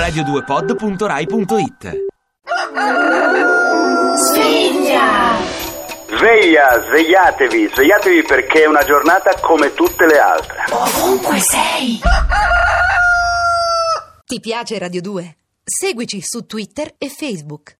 radio2pod.rai.it. Svegliatevi perché è una giornata come tutte le altre. Ovunque sei. Ti piace Radio 2? Seguici su Twitter e Facebook.